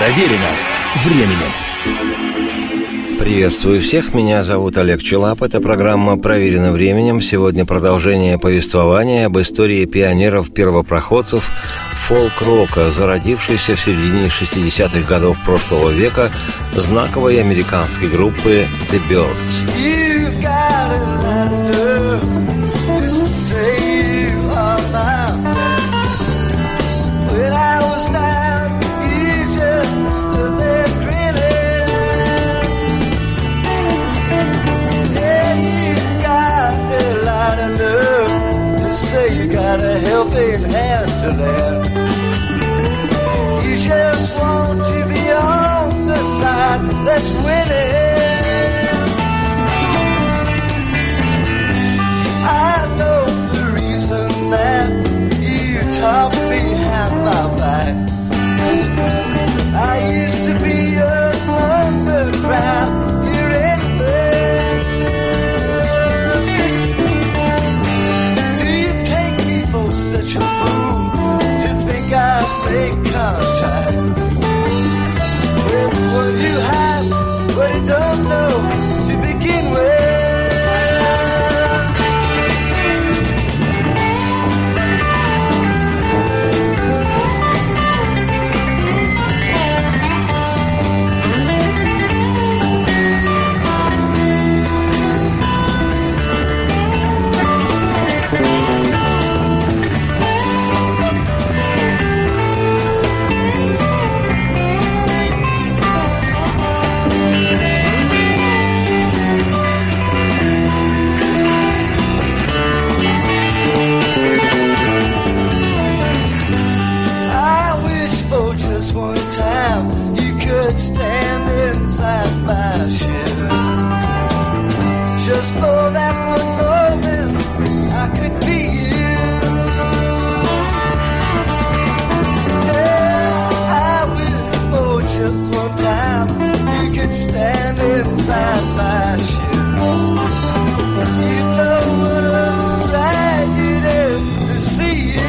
Проверено временем. Приветствую всех, меня зовут Олег Челап. Это программа «Проверено временем». Сегодня продолжение повествования об истории пионеров-первопроходцев фолк-рока, зародившейся в середине 60-х годов прошлого века знаковой американской группы The Byrds. You got a helping hand to lend. You just want to be on the side that's winning. I know the reason that you talk behind my back. I used to be among the crowd. Such a fool to think I'd make contact with what you have, but you don't know to begin with. Just for that one moment, I could be you. Yeah, I wish for just one time you could stand inside my shoes. You know what a ride it is to see you.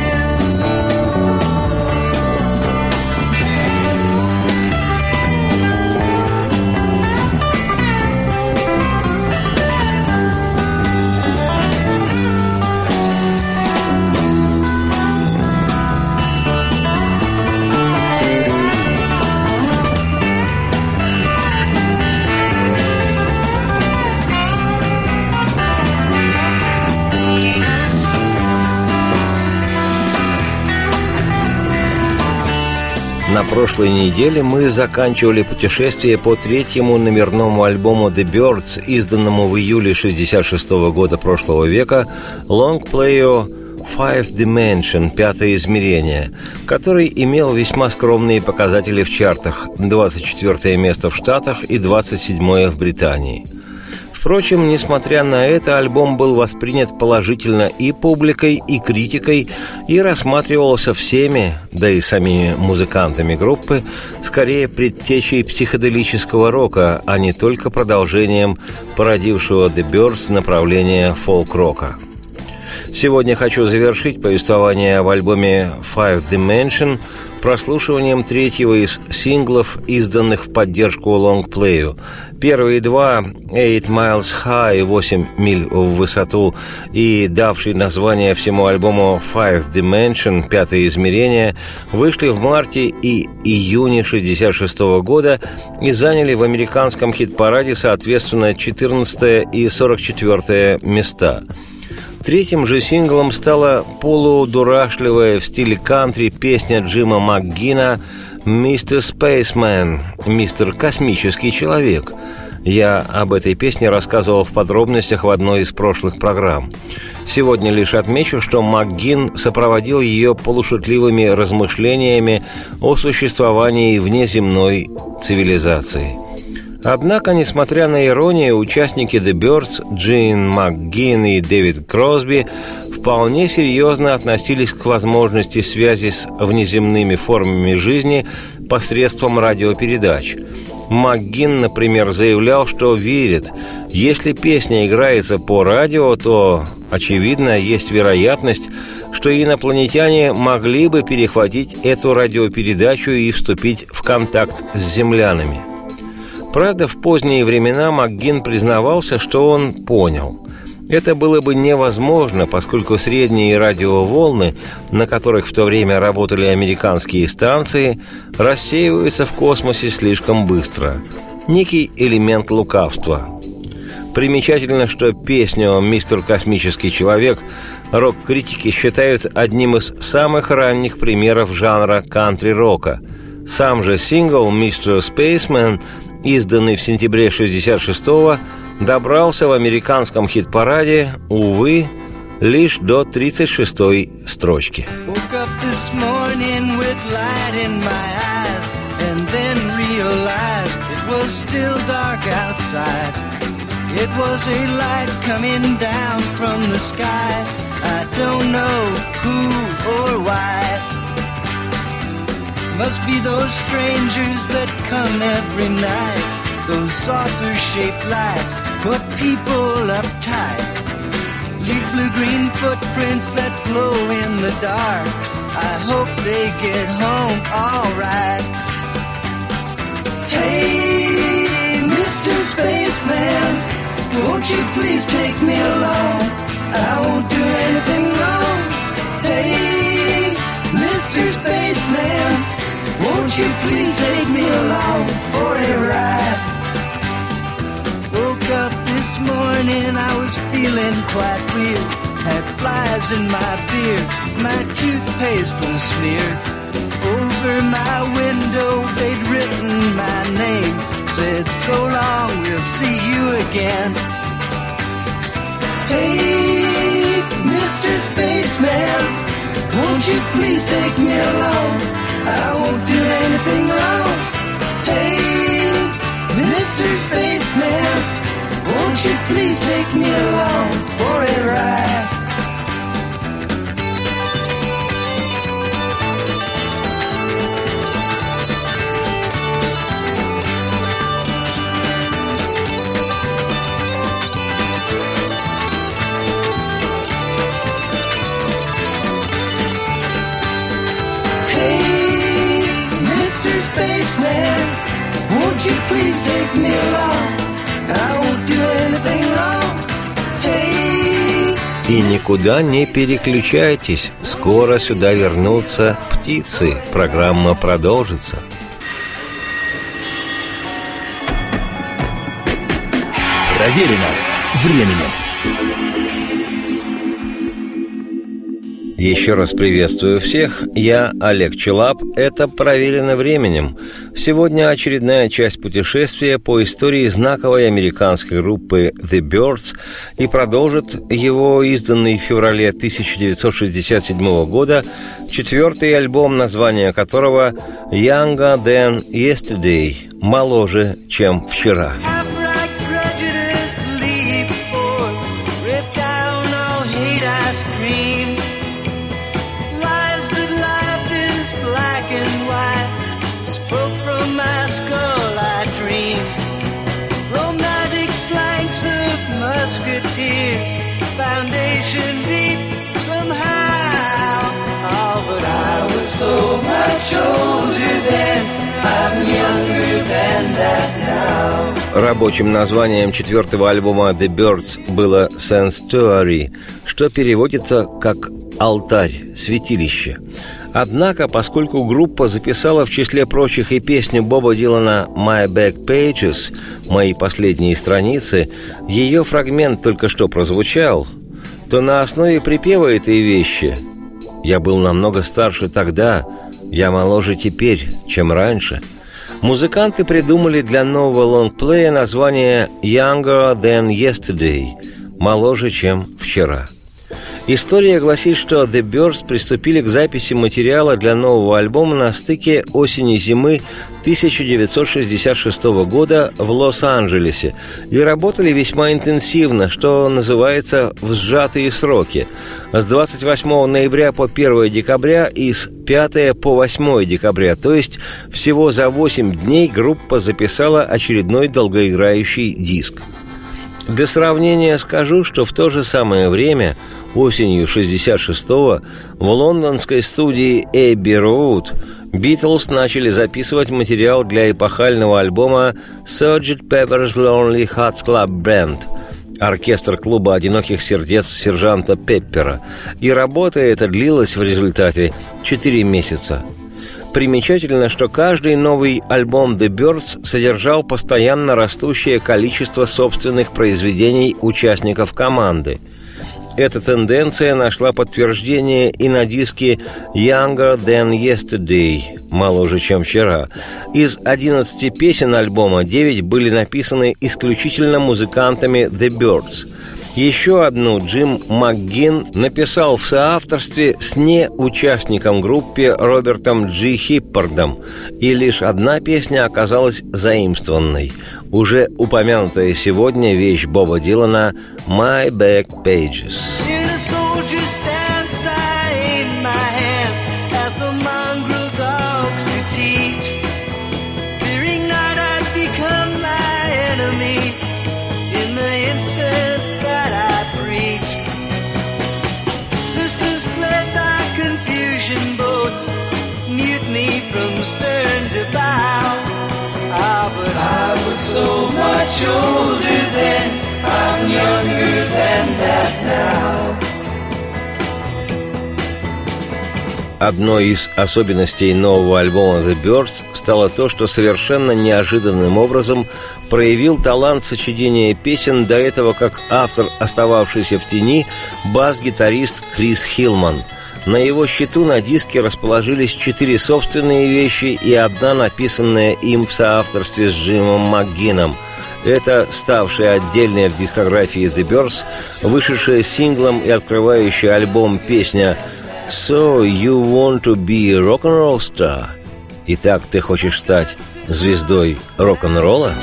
На прошлой неделе мы заканчивали путешествие по третьему номерному альбому The Byrds, изданному в июле 1966 года прошлого века, лонгплею Fifth Dimension, пятое измерение, который имел весьма скромные показатели в чартах: 24 место в Штатах и 27 в Британии. Впрочем, несмотря на это, альбом был воспринят положительно и публикой, и критикой, и рассматривался всеми, да и самими музыкантами группы, скорее предтечей психоделического рока, а не только продолжением породившего The Byrds направления фолк-рока. Сегодня хочу завершить повествование об альбоме Fifth Dimension прослушиванием третьего из синглов, изданных в поддержку лонгплею. Первые два, 8 Miles High, 8 миль в высоту, и давший название всему альбому Fifth Dimension, пятое измерение, вышли в марте и июне 1966 года и заняли в американском хит-параде, соответственно, 14 и 44 места. Третьим же синглом стала полудурашливая в стиле кантри песня Джима МакГинна «Mr. Spaceman», «Мистер Космический человек». Я об этой песне рассказывал в подробностях в одной из прошлых программ. Сегодня лишь отмечу, что МакГинн сопроводил ее полушутливыми размышлениями о существовании внеземной цивилизации. Однако, несмотря на иронию, участники The Byrds, Джин МакГинн и Дэвид Кросби, вполне серьезно относились к возможности связи с внеземными формами жизни посредством радиопередач. МакГinn, например, заявлял, что верит, если песня играется по радио, то, очевидно, есть вероятность, что инопланетяне могли бы перехватить эту радиопередачу и вступить в контакт с землянами. Правда, в поздние времена МакГinn признавался, что он понял. Это было бы невозможно, поскольку средние радиоволны, на которых в то время работали американские станции, рассеиваются в космосе слишком быстро. Некий элемент лукавства. Примечательно, что песню «Мистер Космический человек» рок-критики считают одним из самых ранних примеров жанра кантри-рока. Сам же сингл «Mr. Spaceman», изданный в сентябре 1966-го, добрался в американском хит-параде, увы, лишь до 36-й строчки. It was a light coming down from the sky. I don't know who or why. Must be those strangers that come every night. Those saucer-shaped lights put people uptight. Leave blue-green footprints that glow in the dark. I hope they get home all right. Hey, Mr. Spaceman, won't you please take me along? I won't do anything wrong. Hey, Mr. Spaceman, won't you please take me along for a ride? Woke up this morning, I was feeling quite weird. Had flies in my beard, my toothpaste was smeared. Over my window, they'd written my name. Said, so long, we'll see you again. Hey, Mr. Spaceman, won't you please take me along? I won't do anything wrong. Hey, Mr. Spaceman, won't you please take me along for a ride? Spaceman, won't you please take me along? I won't do anything wrong. Hey. И никуда не переключайтесь, скоро сюда вернутся птицы. Программа продолжится. Проверено временем. Еще раз приветствую всех. Я Олег Челап. Это «Проверено временем». Сегодня очередная часть путешествия по истории знаковой американской группы The Byrds, и продолжит его изданный в феврале 1967 года четвертый альбом, название которого «Younger Than Yesterday» – «Моложе, чем вчера». Musketeers, foundation deep somehow. Oh, but I was so much older then, I'm younger than that now. Рабочим названием четвертого альбома The Byrds было «Sanctuary», что переводится как «алтарь», «святилище». Однако, поскольку группа записала в числе прочих и песню Боба Дилана «My Back Pages» «Мои последние страницы», ее фрагмент только что прозвучал, то на основе припева этой вещи «Я был намного старше тогда, я моложе теперь, чем раньше», музыканты придумали для нового лонгплея название «Younger Than Yesterday» – «Моложе, чем вчера». История гласит, что The Byrds приступили к записи материала для нового альбома на стыке осени-зимы 1966 года в Лос-Анджелесе и работали весьма интенсивно, что называется в сжатые сроки. С 28 ноября по 1 декабря и с 5 по 8 декабря, то есть всего за 8 дней группа записала очередной долгоиграющий диск. Для сравнения скажу, что в то же самое время, осенью 66-го, в лондонской студии Abbey Road Beatles начали записывать материал для эпохального альбома Sgt. Pepper's Lonely Hearts Club Band, оркестр клуба одиноких сердец сержанта Пеппера, и работа эта длилась в результате 4 месяца. Примечательно, что каждый новый альбом The Byrds содержал постоянно растущее количество собственных произведений участников команды. Эта тенденция нашла подтверждение и на диске «Younger Than Yesterday» – «Моложе, чем вчера». Из 11 песен альбома 9 были написаны исключительно музыкантами The Byrds. Еще одну Джим МакГин написал в соавторстве с неучастником группы Робертом Джи Хиппардом, и лишь одна песня оказалась заимствованной. Уже упомянутая сегодня вещь Боба Дилана «My Back Pages». From stern to bow, but I was so much older then, I'm younger than that now. Одной из особенностей нового альбома The Byrds стало то, что совершенно неожиданным образом проявил талант сочинения песен до этого как автор, остававшийся в тени, бас-гитарист Крис Хилман. На его счету на диске расположились 4 собственные вещи и одна, написанная им в соавторстве с Джимом МакГином. Это ставшая отдельная в дискографии The Byrds, вышедшая синглом и открывающая альбом песня «So you want to be a rock'n'roll star?» Итак, ты хочешь стать звездой рок-н-ролла?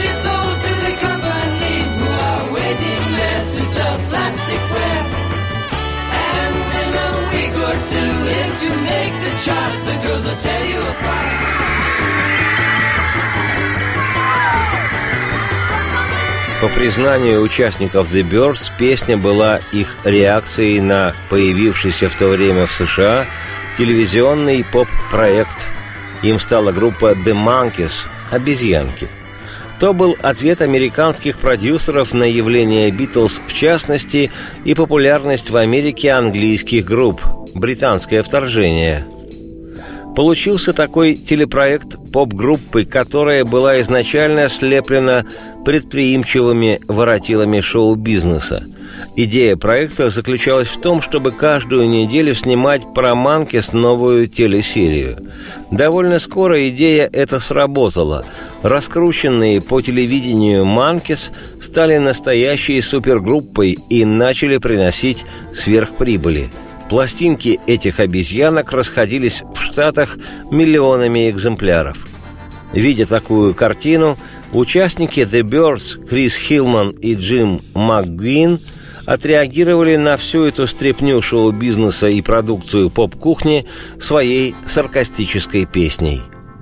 По признанию участников The Byrds, песня была их реакцией на появившийся в то время в США телевизионный поп-проект. Им стала группа The Monkees «Обезьянки». То был ответ американских продюсеров на явление Beatles в частности и популярность в Америке английских групп «Британское вторжение». Получился такой телепроект поп-группы, которая была изначально слеплена предприимчивыми воротилами шоу-бизнеса. Идея проекта заключалась в том, чтобы каждую неделю снимать про Монкис новую телесерию. Довольно скоро идея эта сработала. Раскрученные по телевидению Монкис стали настоящей супергруппой и начали приносить сверхприбыли. Пластинки этих обезьянок расходились в Штатах миллионами экземпляров. Видя такую картину, участники The Byrds, Крис Хилман и Джим МакГин отреагировали на всю эту стряпню шоу-бизнеса и продукцию поп-кухни своей саркастической песней.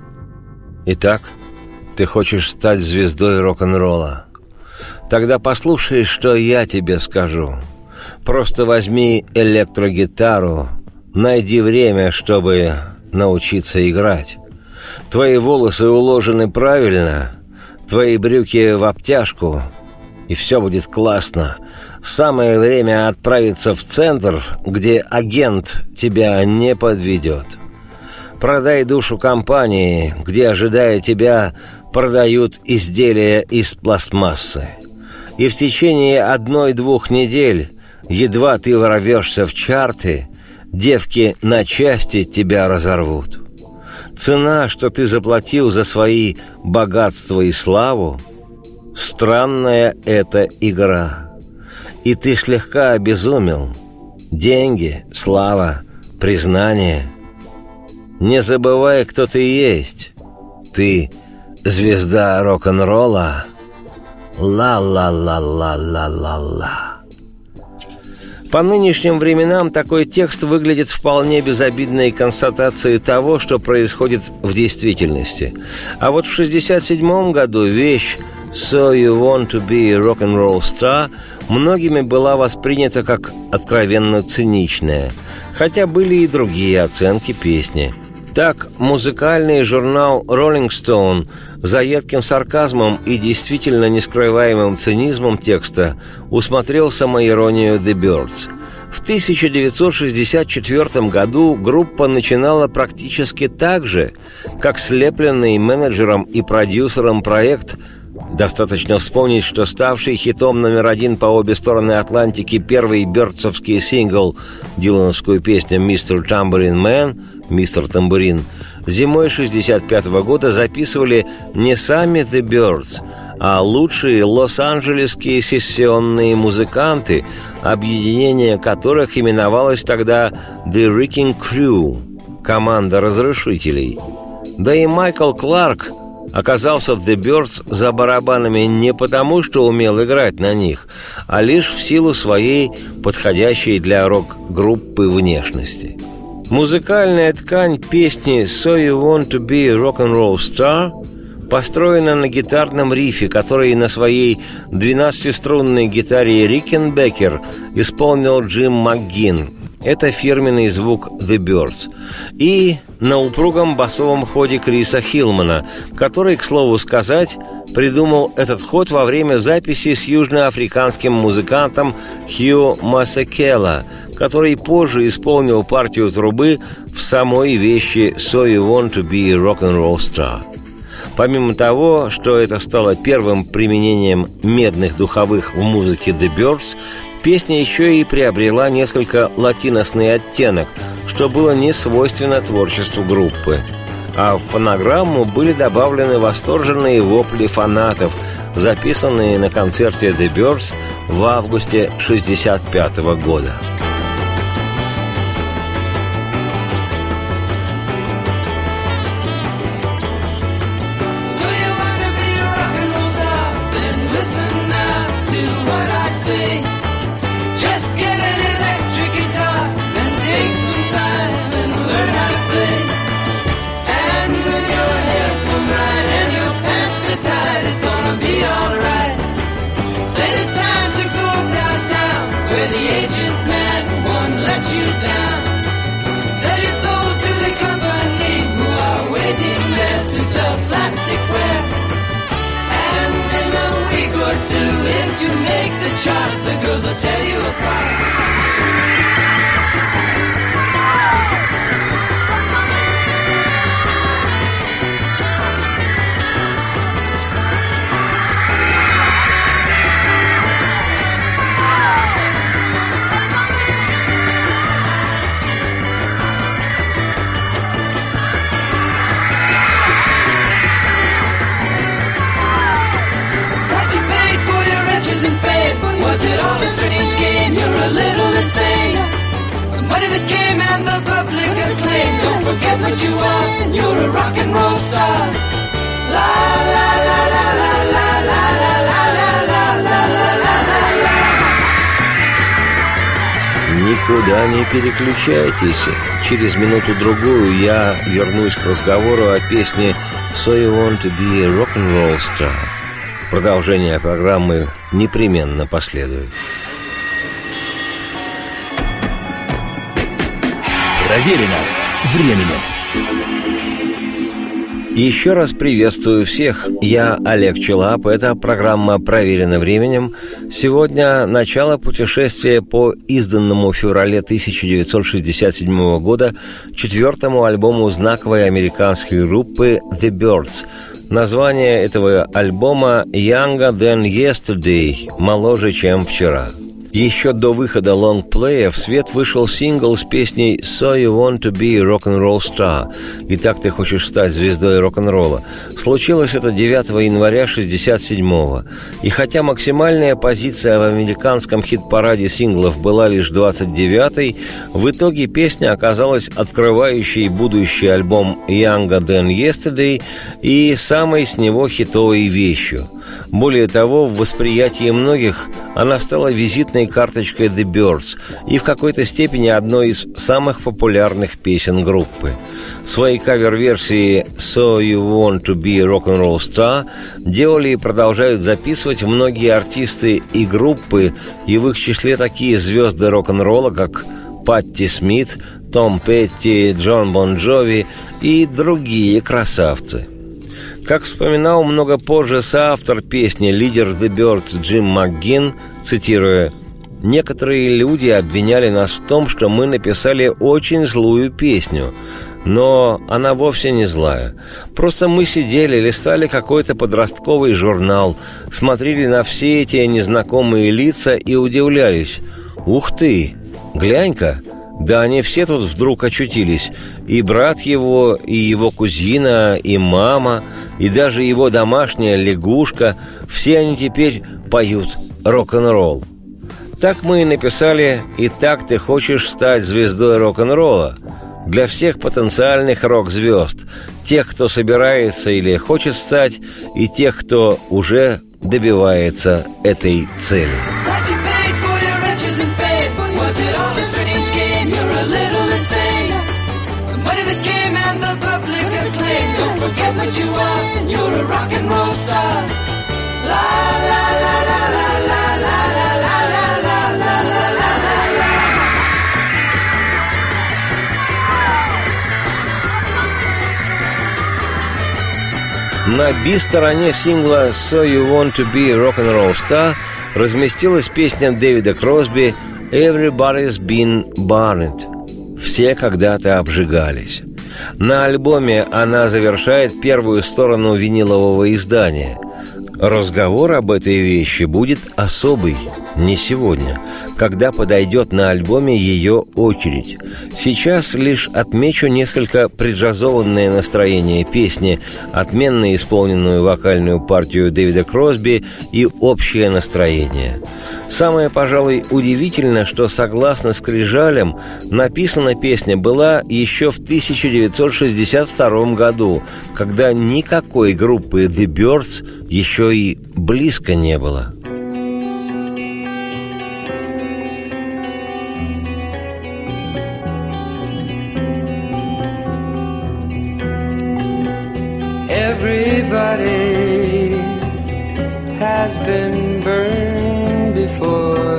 Итак, ты хочешь стать звездой рок-н-ролла? Тогда послушай, что я тебе скажу. Просто возьми электрогитару, найди время, чтобы научиться играть. Твои волосы уложены правильно, твои брюки в обтяжку, и все будет классно. Самое время отправиться в центр, где агент тебя не подведет. Продай душу компании, где, ожидая тебя, продают изделия из пластмассы. И в течение 1-2 недель, едва ты ворвешься в чарты, девки на части тебя разорвут. Цена, что ты заплатил за свои богатства и славу, странная эта игра. И ты слегка обезумел. деньги, слава, признание. Не забывай, кто ты есть. Ты звезда рок-н-ролла. Ла-ла-ла-ла-ла-ла-ла. По нынешним временам такой текст выглядит вполне безобидной констатацией того, что происходит в действительности. А вот в 1967 году вещь «So you want to be a rock-and-roll star» многими была воспринята как откровенно циничная, хотя были и другие оценки песни. Так, музыкальный журнал Rolling Stone за едким сарказмом и действительно нескрываемым цинизмом текста усмотрел самоиронию The Byrds. В 1964 году группа начинала практически так же, как слепленный менеджером и продюсером проект. Достаточно вспомнить, что ставший хитом номер один по обе стороны Атлантики первый бёрдсовский сингл, дилановскую песню «Mr. Tambourine Man», «Мистер Тамбурин», зимой 1965 года записывали не сами The Byrds, а лучшие лос-анджелесские сессионные музыканты, объединение которых именовалось тогда «The Wrecking Crew» — команда разрушителей. Да и Майкл Кларк оказался в The Byrds за барабанами не потому, что умел играть на них, а лишь в силу своей подходящей для рок-группы внешности. Музыкальная ткань песни «So you want to be a rock-and-roll star» построена на гитарном рифе, который на своей 12-струнной гитаре Рикенбекер исполнил Джим МакГinn. Это фирменный звук The Byrds. И на упругом басовом ходе Криса Хилмана, который, к слову сказать, придумал этот ход во время записи с южноафриканским музыкантом Хью Масекела, который позже исполнил партию трубы в самой вещи «So you want to be a rock-and-roll star». Помимо того, что это стало первым применением медных духовых в музыке The Byrds, песня еще и приобрела несколько латиносный оттенок, что было не свойственно творчеству группы. А в фонограмму были добавлены восторженные вопли фанатов, записанные на концерте The Byrds в августе 1965 года. If you make the charts, the girls will tear you apart. Was it all a strange game? You're a little insane. The money that came and the public acclaim. Don't forget what you are. You're a rock and roll star. La la la la la la la la la la la la la. Никуда не переключайтесь. Через минуту-другую я вернусь к разговору о песне «So you want to be a rock-and-roll star». Продолжение программы непременно последует. Проверено временем. Еще раз приветствую всех. Я Олег Челап. Это программа «Проверено временем». Сегодня начало путешествия по изданному в феврале 1967 года четвертому альбому знаковой американской группы The Byrds. Название этого альбома «Younger Than Yesterday» – «Моложе, чем вчера». Еще до выхода лонгплея в свет вышел сингл с песней «So You Want To Be a Rock'n'Roll Star» «Итак ты хочешь стать звездой рок-н-ролла». Случилось это 9 января 1967-го. И хотя максимальная позиция в американском хит-параде синглов была лишь 29-й, в итоге песня оказалась открывающей будущий альбом «Younger Than Yesterday» и самой с него хитовой вещью. Более того, в восприятии многих она стала визитной карточкой The Byrds и в какой-то степени одной из самых популярных песен группы. Свои кавер-версии «So You Want To Be a Rock'n'Roll Star» делали и продолжают записывать многие артисты и группы, и в их числе такие звезды рок-н-ролла, как Патти Смит, Том Петти, Джон Бон Джови и другие красавцы. Как вспоминал много позже соавтор песни, лидер The Byrds Джим МакГinn, цитируя: «Некоторые люди обвиняли нас в том, что мы написали очень злую песню, но она вовсе не злая. Просто мы сидели, листали какой-то подростковый журнал, смотрели на все эти незнакомые лица и удивлялись. Ух ты, глянь-ка! Да они все тут вдруг очутились. И брат его, и его кузина, и мама, и даже его домашняя лягушка. Все они теперь поют рок-н-ролл. Так мы и написали «Итак ты хочешь стать звездой рок-н-ролла» для всех потенциальных рок-звезд, тех, кто собирается или хочет стать, и тех, кто уже добивается этой цели. Forget what you are, you're a rock and roll star. La la la la la la la la la la la la la. На би-стороне сингла «So You Want To Be a Rock'n'Roll Star» разместилась песня Дэвида Кросби «Everybody's Been Burned» «Все когда-то обжигались». На альбоме она завершает первую сторону винилового издания. Разговор об этой вещи будет особый, не сегодня, когда подойдет на альбоме ее очередь. Сейчас лишь отмечу несколько преджазованное настроение песни, отменно исполненную вокальную партию Дэвида Кросби и общее настроение. Самое, пожалуй, удивительно, что, согласно скрижалям, написана песня была еще в 1962 году, когда никакой группы The Byrds еще и близко не было. Everybody has been burned before.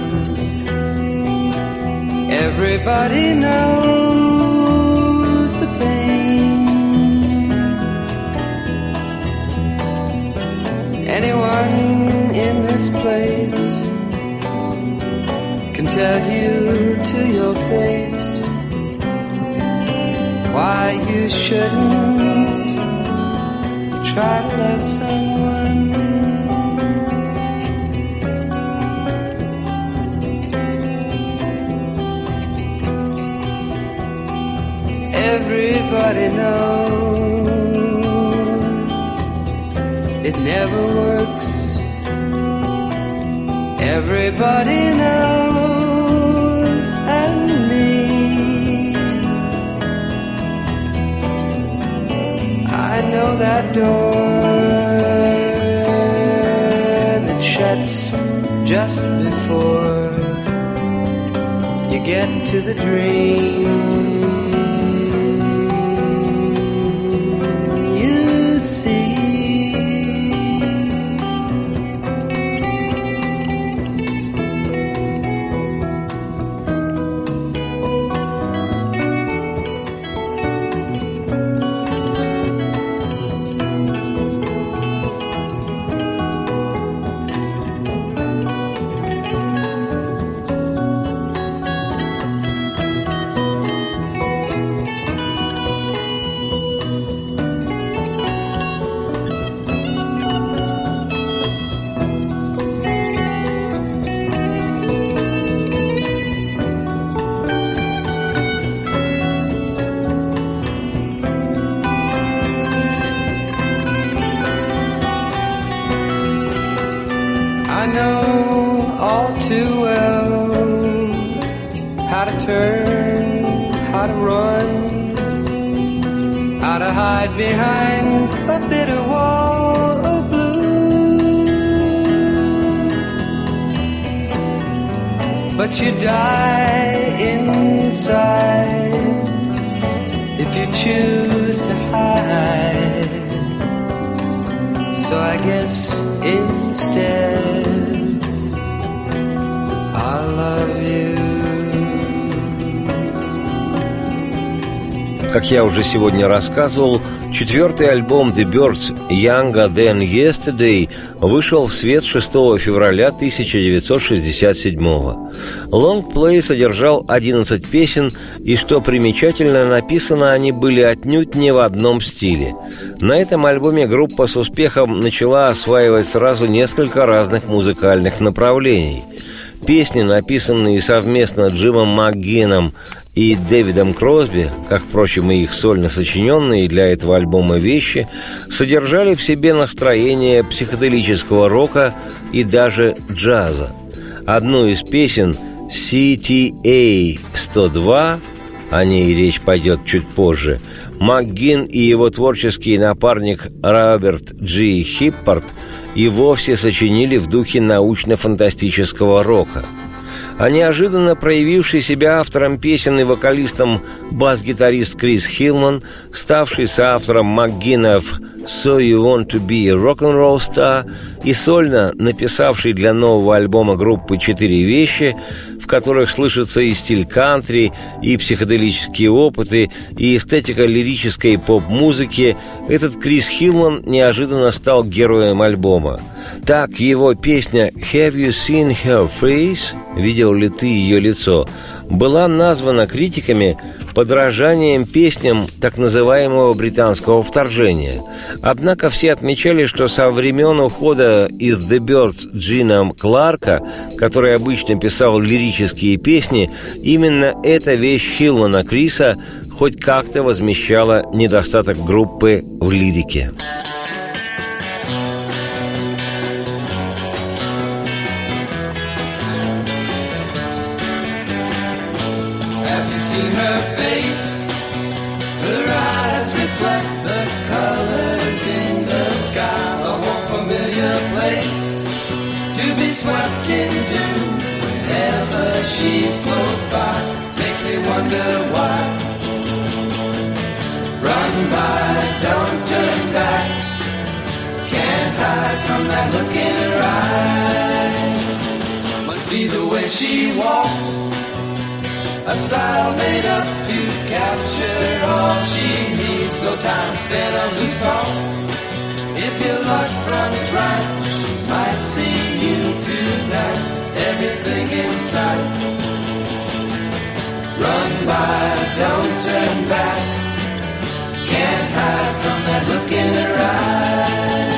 Everybody knows the pain. Anyone in this place can tell you to your face why you shouldn't try to love someone. Everybody knows it never works. Everybody knows, and me. I know that door that shuts just before you get to the dream. You see, one, how to hide behind a bitter wall of blue. But you die inside if you choose to hide. So I guess instead I love you. Как я уже сегодня рассказывал, четвертый альбом The Byrds «Younger Than Yesterday» вышел в свет 6 февраля 1967-го. Лонгплей содержал 11 песен, и, что примечательно, написаны они были отнюдь не в одном стиле. На этом альбоме группа с успехом начала осваивать сразу несколько разных музыкальных направлений. Песни, написанные совместно Джимом МакГинном и Дэвидом Кросби, как, впрочем, и их сольно сочиненные для этого альбома вещи, содержали в себе настроение психоделического рока и даже джаза. Одну из песен CTA-102, о ней речь пойдет чуть позже, МакГинн и его творческий напарник Роберт Джи Хиппард и вовсе сочинили в духе научно-фантастического рока. А неожиданно проявивший себя автором песен и вокалистом бас-гитарист Крис Хилман, ставший соавтором МакГиннов «So You Want to Be a Rock'n'Roll Star» и сольно написавший для нового альбома группы 4 вещи, в которых слышится и стиль кантри, и психоделические опыты, и эстетика лирической поп-музыки, этот Крис Хилман неожиданно стал героем альбома. Так, его песня «Have you seen her face?» «Видел ли ты ее лицо?» была названа критиками подражанием песням так называемого британского вторжения. Однако все отмечали, что со времен ухода из The Byrds Джина Кларка, который обычно писал лирические песни, именно эта вещь Хилмана Криса хоть как-то возмещала недостаток группы в лирике. She's close by, makes me wonder why. Run by, don't turn back. Can't hide from that look in her eye. Must be the way she walks, a style made up to capture all she needs. No time spent on loose talk. If your luck runs right, she might see you tonight. Everything in sight. Run by, don't turn back. Can't hide from that look in her eye.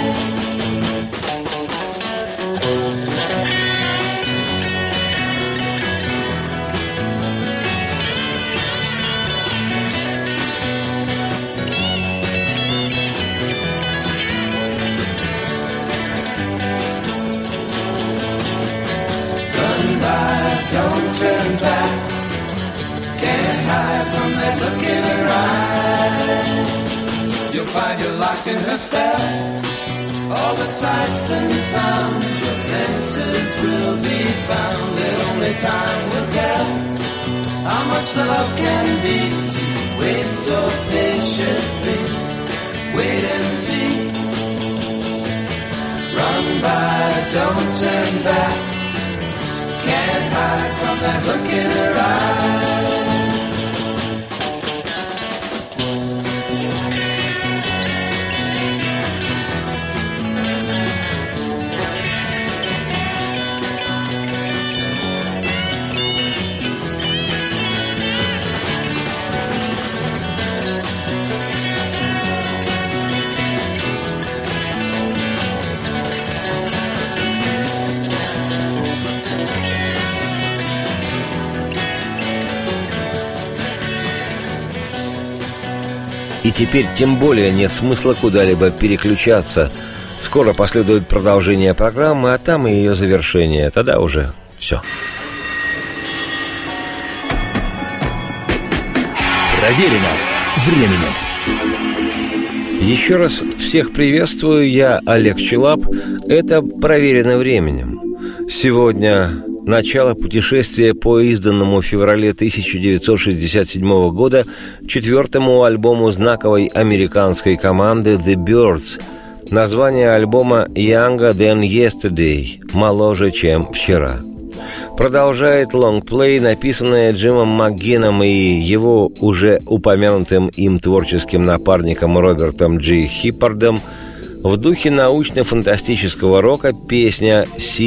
Don't turn back. Can't hide from that look in her eye. You'll find you're locked in her spell. All the sights and sounds, your senses will be found. And only time will tell how much love can be. To wait so patiently, wait and see. Run by, don't turn back. Can't hide from that look in her eye. И теперь тем более нет смысла куда-либо переключаться. Скоро последует продолжение программы, а там и ее завершение. Тогда уже все. Проверено временем. Еще раз всех приветствую, я Олег Челап. Это «Проверено временем». Сегодня начало путешествия по изданному в феврале 1967 года четвертому альбому знаковой американской команды The Byrds. Название альбома «Younger Than Yesterday» – «Моложе, чем вчера». Продолжает лонгплей, написанное Джимом МакГинном и его уже упомянутым им творческим напарником Робертом Джи Хиппардом, в духе научно-фантастического рока песня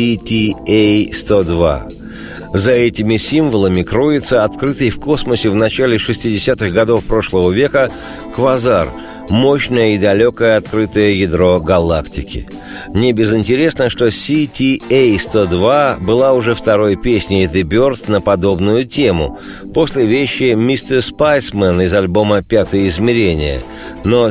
CTA-102. За этими символами кроется открытый в космосе в начале 60-х годов прошлого века квазар – мощное и далекое открытое ядро галактики. Не безинтересно, что CTA-102 была уже второй песней The Byrds на подобную тему, после вещи «Mr. Spiceman» из альбома «Пятое измерение». Но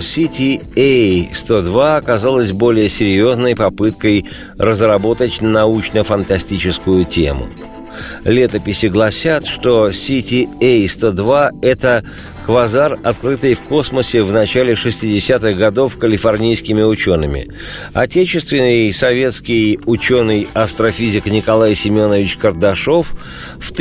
CTA-102 оказалась более серьезной попыткой разработать научно-фантастическую тему. Летописи гласят, что CTA-102 – это квазар, открытый в космосе в начале 60-х годов калифорнийскими учеными. Отечественный советский ученый-астрофизик Николай Семенович Кардашов в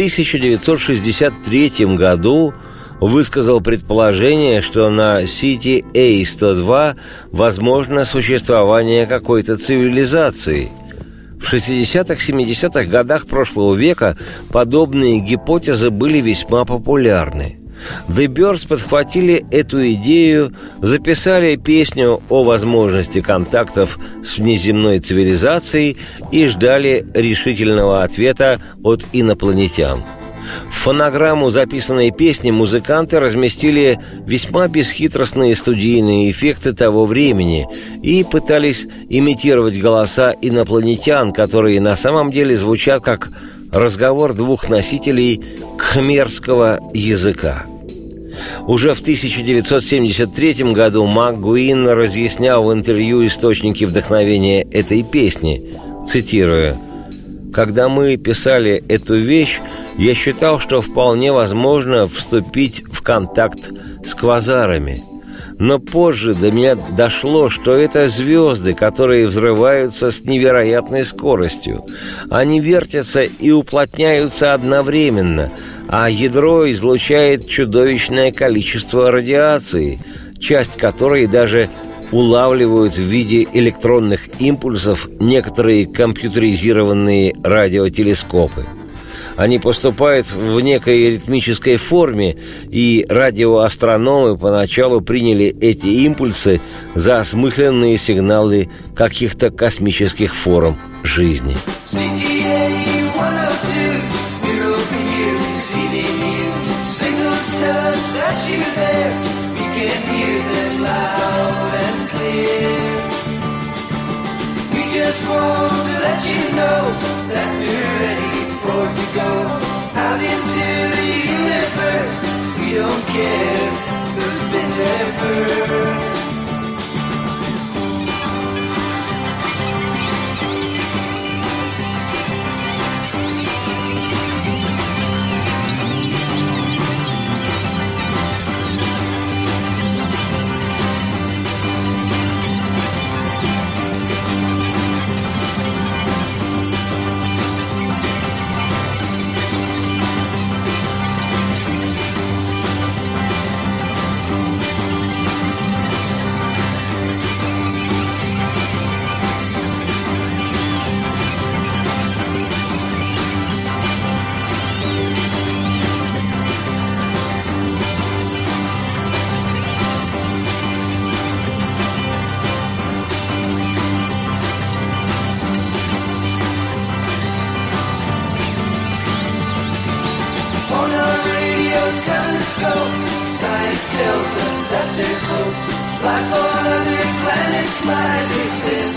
1963 году высказал предположение, что на CTA-102 возможно существование какой-то цивилизации. В 60-70-х годах прошлого века подобные гипотезы были весьма популярны. The Byrds подхватили эту идею, записали песню о возможности контактов с внеземной цивилизацией и ждали решительного ответа от инопланетян. В фонограмму записанной песни музыканты разместили весьма бесхитростные студийные эффекты того времени и пытались имитировать голоса инопланетян, которые на самом деле звучат как разговор двух носителей кхмерского языка. Уже в 1973 году МакГуин разъяснял в интервью источники вдохновения этой песни, цитируя: «Когда мы писали эту вещь, я считал, что вполне возможно вступить в контакт с квазарами. Но позже до меня дошло, что это звезды, которые взрываются с невероятной скоростью. Они вертятся и уплотняются одновременно, а ядро излучает чудовищное количество радиации, часть которой даже улавливают в виде электронных импульсов некоторые компьютеризированные радиотелескопы. Они поступают в некой ритмической форме, и радиоастрономы поначалу приняли эти импульсы за осмысленные сигналы каких-то космических форм жизни». Just want to let you know that we're ready for to go out into the universe. We don't care who's been there first. Science tells us that there's hope. Life on other planets might exist.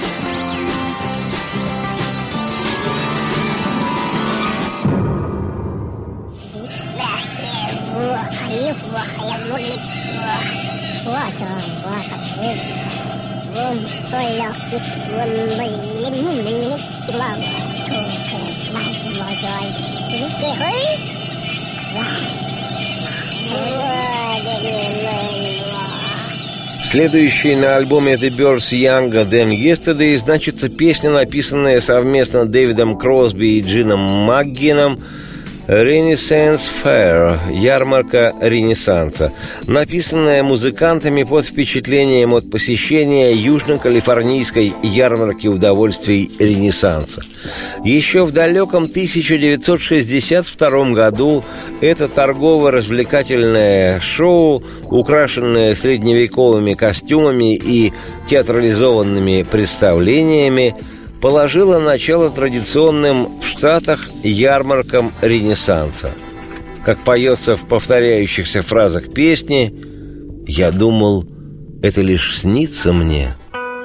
Следующей на альбоме The Byrds Younger Than Yesterday значится песня, написанная совместно Дэвидом Кросби и Джином Макгином, «Renaissance Fair» – ярмарка Ренессанса, написанная музыкантами под впечатлением от посещения южно-калифорнийской ярмарки удовольствий Ренессанса. Еще в далеком 1962 году это торгово-развлекательное шоу, украшенное средневековыми костюмами и театрализованными представлениями, положила начало традиционным в Штатах ярмаркам Ренессанса. Как поется в повторяющихся фразах песни, «Я думал, это лишь снится мне».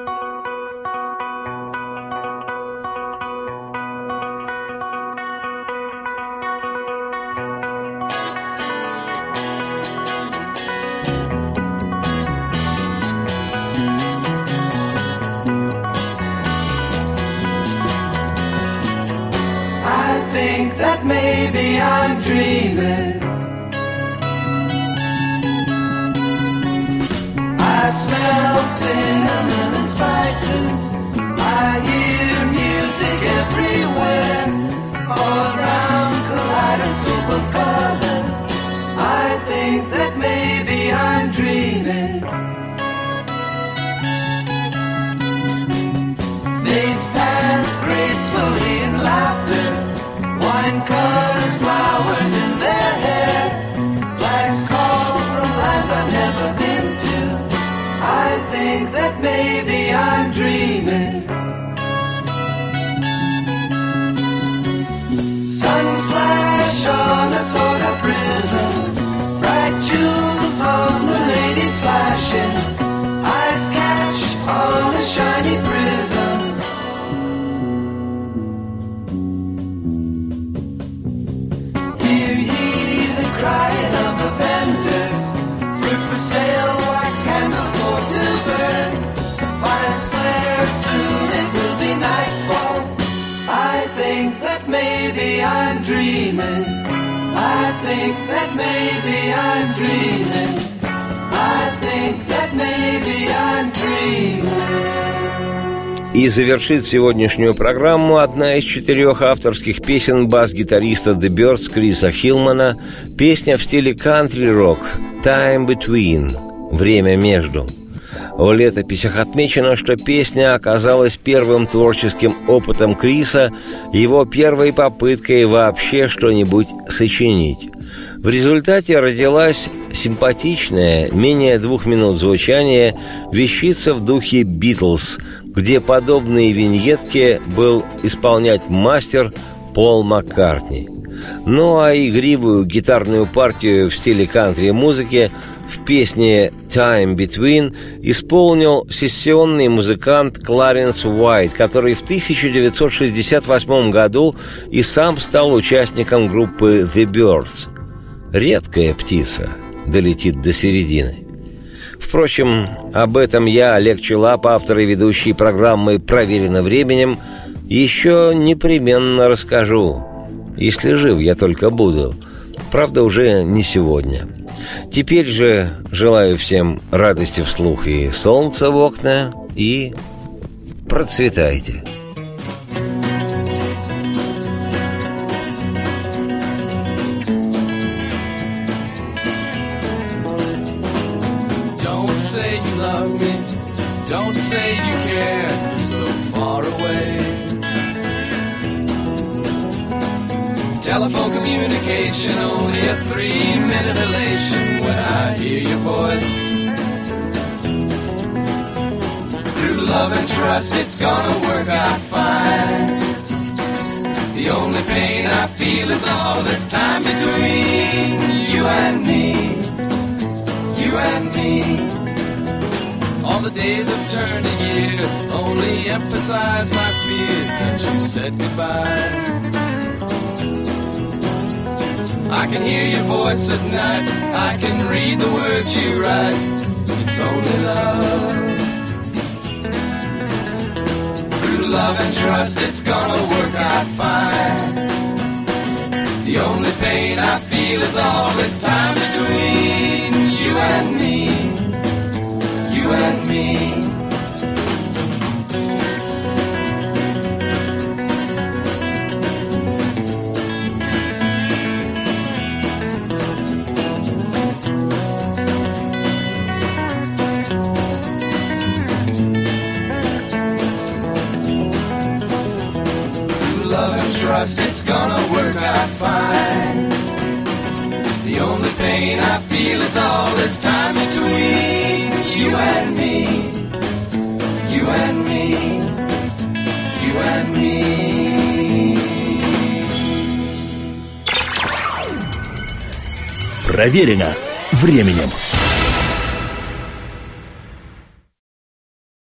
That maybe I'm dreaming. I smell cinnamon and spices. I hear music everywhere, all around, kaleidoscope of color. I think that maybe I'm dreaming. Maids pass gracefully in laughter, wine-colored flowers in their hair. Flags call from lands I've never been to. I think that maybe I'm dreaming. Suns flash on a soda prism, bright jewels on the ladies flashing. Eyes catch on a shiny prism. Crying of the vendors, fruit for sale, wax candles more to burn. Fires flare, soon it will be nightfall. I think that maybe I'm dreaming. I think that maybe I'm dreaming. I think that maybe I'm dreaming. И завершит сегодняшнюю программу одна из 4 авторских песен бас-гитариста The Byrds Криса Хилмана, песня в стиле кантри-рок «Time Between» – «Время между». В летописях отмечено, что песня оказалась первым творческим опытом Криса, его первой попыткой вообще что-нибудь сочинить. В результате родилась симпатичная, менее 2 минут звучания, вещица в духе «Битлз», где подобные виньетки был исполнять мастер Пол Маккартни. Ну а игривую гитарную партию в стиле кантри-музыки в песне «Time Between» исполнил сессионный музыкант Кларенс Уайт, который в 1968 году и сам стал участником группы The Byrds. Редкая птица долетит до середины. Впрочем, об этом я, Олег Челап, автор и ведущий программы «Проверено временем», еще непременно расскажу, если жив я только буду. Правда, уже не сегодня. Теперь же желаю всем радости вслух и солнца в окна, и процветайте. Don't say you care, you're so far away. Telephone communication, only a 3-minute elation when I hear your voice. Through love and trust, it's gonna work out fine. The only pain I feel is all this time between you and me, you and me. All the days of turning years only emphasize my fears since you said goodbye. I can hear your voice at night, I can read the words you write. It's only love. Through love and trust, it's gonna work out fine. The only pain I feel is all this time between you you and me, you and me. Love and trust, it's gonna work out fine. The only pain I feel is all this time between you and me, you and me, you and me. Проверено временем.